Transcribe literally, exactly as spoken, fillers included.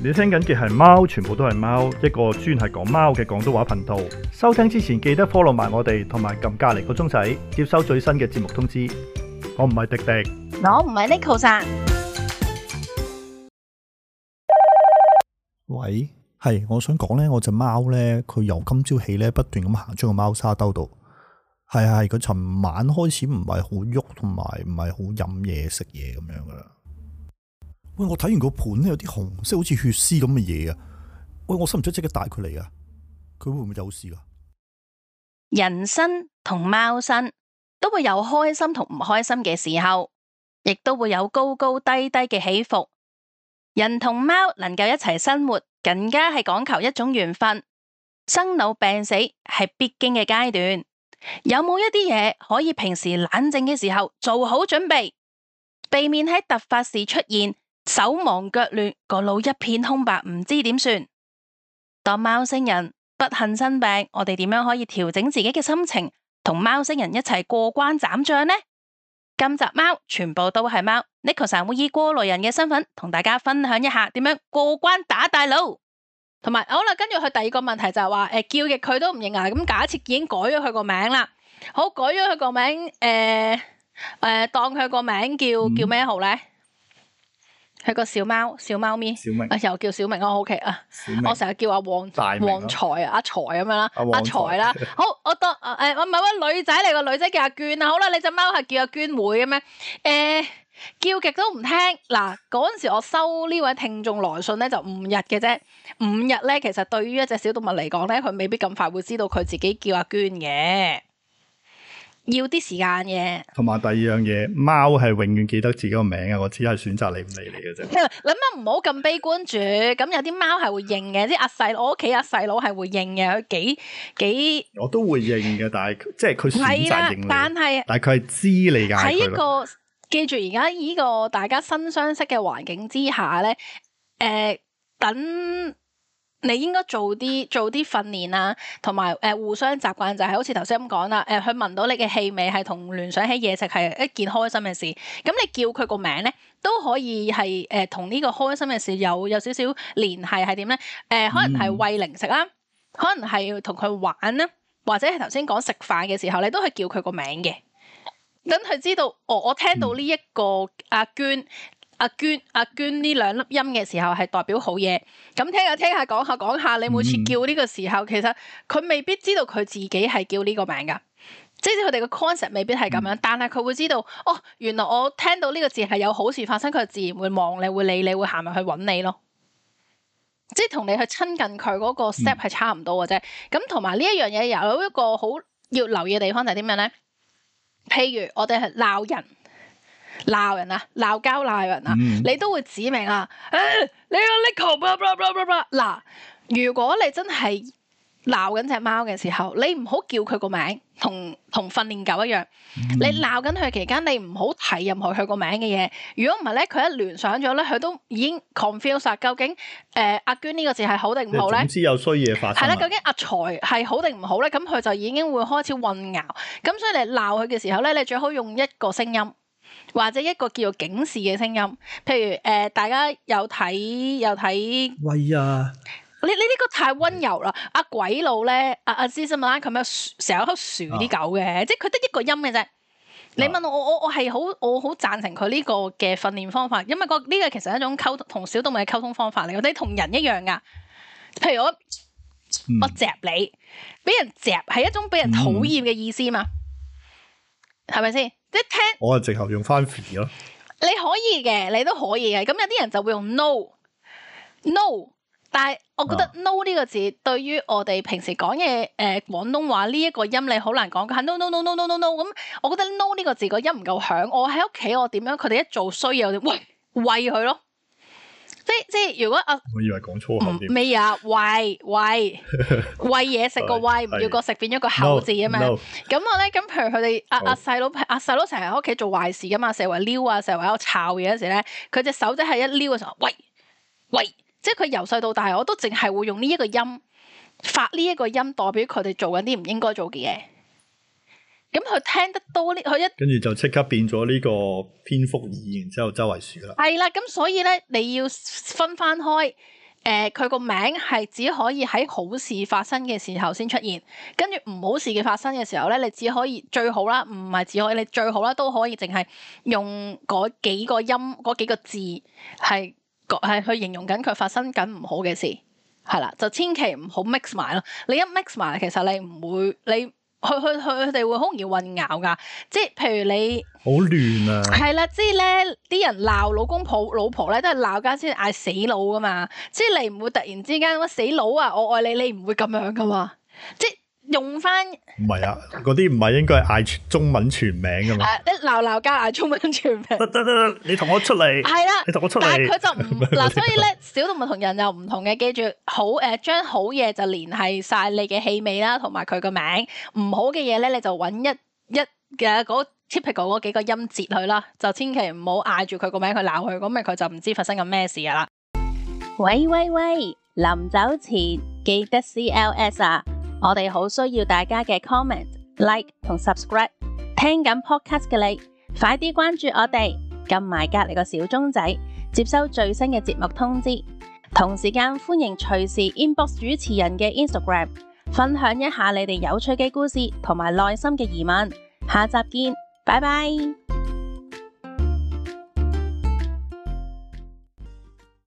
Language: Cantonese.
你聽緊嘅係貓，全部都係貓，一個專係講貓嘅廣東話頻道。收聽之前記得 follow 埋我哋，同埋撳隔籬個鐘仔，接收最新嘅節目通知。我唔係迪迪， 我唔係 Neko さん。 喂，係，我想講咧，我隻貓咧，佢由今朝起咧，不斷咁行出個貓沙兜度。係係，佢尋晚開始唔係好喐，同埋唔係好飲嘢食嘢咁樣噶啦。喂，我睇完個盤咧，有啲紅色，好似血絲咁嘅嘢啊！喂，我使唔使即刻帶佢嚟啊？佢會唔會有事噶？ 人生同貓生都會有開心同唔開心嘅時候，亦都會有高高低低嘅起伏。人同貓能夠一齊生活，更加係講求一種緣分。生老病死係必經嘅階段。有冇一啲嘢可以平時冷靜嘅時候做好準備，避免喺突發時出現手忙腳亂，個腦一片空白，唔知點算？當貓星人不幸生病，我哋點樣可以調整自己嘅心情，同貓星人一齊過關斬將呢？今集貓全部都係貓，Neko さん會以過來人嘅身份同大家分享一下點樣過關打大佬。同埋好啦，跟住佢第二個問題就係話，誒、呃、叫極佢都唔認啊。咁假設已經改咗佢個名啦，好，改咗佢個名，誒、呃、誒、呃、當佢個名叫、嗯、叫咩好咧？佢個小貓小貓咪，小明啊，又叫小明啊 ，OK 啊，我成日叫阿旺旺財啊，阿財咁樣啦，阿財啦。好，我當誒我唔係話女仔嚟，個女仔叫阿娟啊。好啦，你隻貓係叫阿娟妹咁樣，誒、呃。叫極都唔聽。嗱，嗰陣時我收呢位聽眾來信咧就五日嘅啫，五日咧其實對於一隻小動物嚟講咧，佢未必咁快會知道佢自己叫阿娟嘅，要啲時間嘅。同埋第二樣嘢，貓係永遠記得自己個名啊，我只係選擇理唔理你嘅啫。諗乜唔好咁悲觀住，咁有啲貓係會認嘅，即係阿細我屋企阿細佬係會認嘅，佢幾幾我都會認嘅，但係即係佢選擇認你，但係但係佢係知你㗎，喺一個。記住而家呢個大家新相識嘅環境之下咧，誒、呃，等你應該做啲做啲訓練啊，同埋誒互相習慣，就係好似頭先咁講啦，誒，佢聞到你嘅氣味係同聯想起嘢食係一件開心嘅事，咁你叫佢個名咧都可以係誒同呢個開心嘅事有有少少聯繫，係點咧？誒、呃，可能係餵零食啦，可能係同佢玩啦，或者係頭先講食飯嘅時候，你都係叫佢個名嘅。等佢知道，哦，我聽到呢一個阿娟、阿娟、阿娟呢兩粒音嘅時候係代表好嘢。咁聽下聽下講下講下，你每次叫呢個時候，其實佢未必知道佢自己係叫呢個名噶，即係佢哋嘅 concept 未必係咁樣，但係佢會知道，哦，原來我聽到呢個字係有好事發生，佢自然會望你，會理你，會行埋去揾你咯。即係同你去親近佢嗰個 step 係差唔多嘅啫。咁同埋呢一樣嘢有一個好要留意嘅地方就係啲咩咧？譬如我哋係鬧人，鬧人啊，鬧交鬧人啊，嗯、你都會指明啊，誒、哎，你個 Neko blah blah blah blah blah。嗱，如果你真係鬧緊隻貓嘅時候，你唔好叫佢個名，同同訓練狗一樣。嗯、你鬧緊佢期間，你唔好提任何佢個名嘅嘢。如果唔係咧，佢一聯想咗咧，佢都已經 confuse 啦。究竟誒、呃、阿娟呢個字係好定唔好咧？總之有衰嘢發生。係啦，究竟阿財係好定唔好咧？咁佢就已經會開始混淆。咁所以你鬧佢嘅時候咧，你最好用一個聲音，或者一個叫做警示嘅聲音。譬如誒、呃，大家有睇有睇。喂呀！你你呢個太溫柔啦！阿、啊、鬼佬咧，阿阿芝士馬拉咁樣成日喺度薯啲狗嘅，啊、即係佢得一個音嘅啫。啊、你問我，我我我係好我好贊成佢呢個嘅訓練方法，因為個呢個其實係一種溝通同小動物嘅溝通方法嚟，我哋同人一樣噶。譬如我、嗯、我嚼你，俾人嚼係一種俾人討厭嘅意思嘛，係咪先？即係聽我係直頭用翻 free 咯。你可以嘅，你都可以嘅。咁有啲人就會用 no no。但係，我覺得 no 呢個字對於我哋平時講嘢誒廣東話呢一個音，你好難講嘅。no no no no no no no 咁，我覺得 no 呢個字個音唔夠響。我喺屋企我點樣？佢哋一做衰嘢，我哋喂喂佢咯。即即如果啊，我以為講粗口添。咩啊？喂喂喂嘢食個喂，唔要個食變咗個口字啊嘛。咁 no, no. 我咧咁，譬如佢哋阿阿細佬阿細佬成日喺屋企做壞事噶嘛，成日話撩啊，成日話喺度抄嘢嗰時咧，佢隻手仔係一撩嘅時候，喂喂。即係佢由細到大，我都淨係會用呢一個音發呢一個音，代表佢哋做緊啲唔應該做嘅嘢。咁佢聽得多呢，佢一跟住就即刻變咗呢個蝙蝠耳，然之後周圍鼠啦。係啦，咁所以咧，你要分翻開。誒、 誒佢個名係只可以喺好事發生嘅時候先出現，跟住唔好事嘅發生嘅時候咧，你只可以最好啦，唔係只可以，你最好啦都可以淨係用嗰幾個音嗰幾個字係係去形容緊佢發生緊唔好嘅事，係啦，就千祈唔好 mix 埋咯。你一 mix 埋，其實你唔會你。佢佢佢佢哋會好容易混淆噶，即係譬如你好亂啊， 係啦，即係咧啲人鬧老公婆老婆咧，都係鬧交先嗌死佬噶嘛，即係你唔會突然之間乜死佬啊，我愛你，你唔會咁樣噶嘛，即係用翻唔係啊，嗰啲唔係應該係嗌中文全名噶嘛？ 誒，一鬧鬧交嗌中文全名， 得得得，你同我出嚟，係啦，你同我出嚟， 但係佢就唔嗱，所以咧小動物同人又唔同嘅，記住好誒，將好嘢就連繫晒你嘅氣味啦，同埋佢個名，唔好嘅嘢咧你就揾一一嘅嗰 typical 嗰幾個音節去啦，就千祈唔好嗌住佢個名去鬧佢，咁咪佢就唔知發生緊咩事噶啦。喂喂喂，臨走前記得 C L S 啊！我哋好需要大家嘅 comment、like 同 subscribe。聽緊 podcast 嘅你，快啲關注我哋，撳埋隔籬個小鐘仔，接收最新嘅節目通知。同時間歡迎隨時 inbox 主持人嘅 Instagram， 分享一下你哋有趣嘅故事同埋內心嘅疑問。下集見，拜拜。